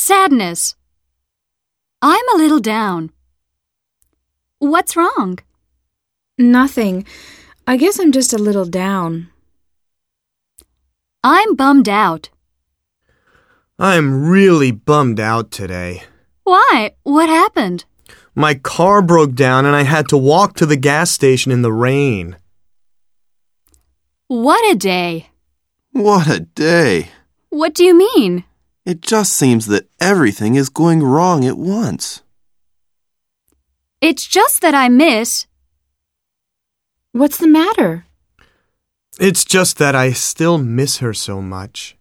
Sadness. I'm a little down. What's wrong? Nothing. I guess I'm just a little down. I'm bummed out. I'm really bummed out today. Why? What happened? My car broke down and I had to walk to the gas station in the rain. What a day. What a day. What do you mean? It just seems that everything is going wrong at once. It's just that I miss. What's the matter? It's just that I still miss her so much.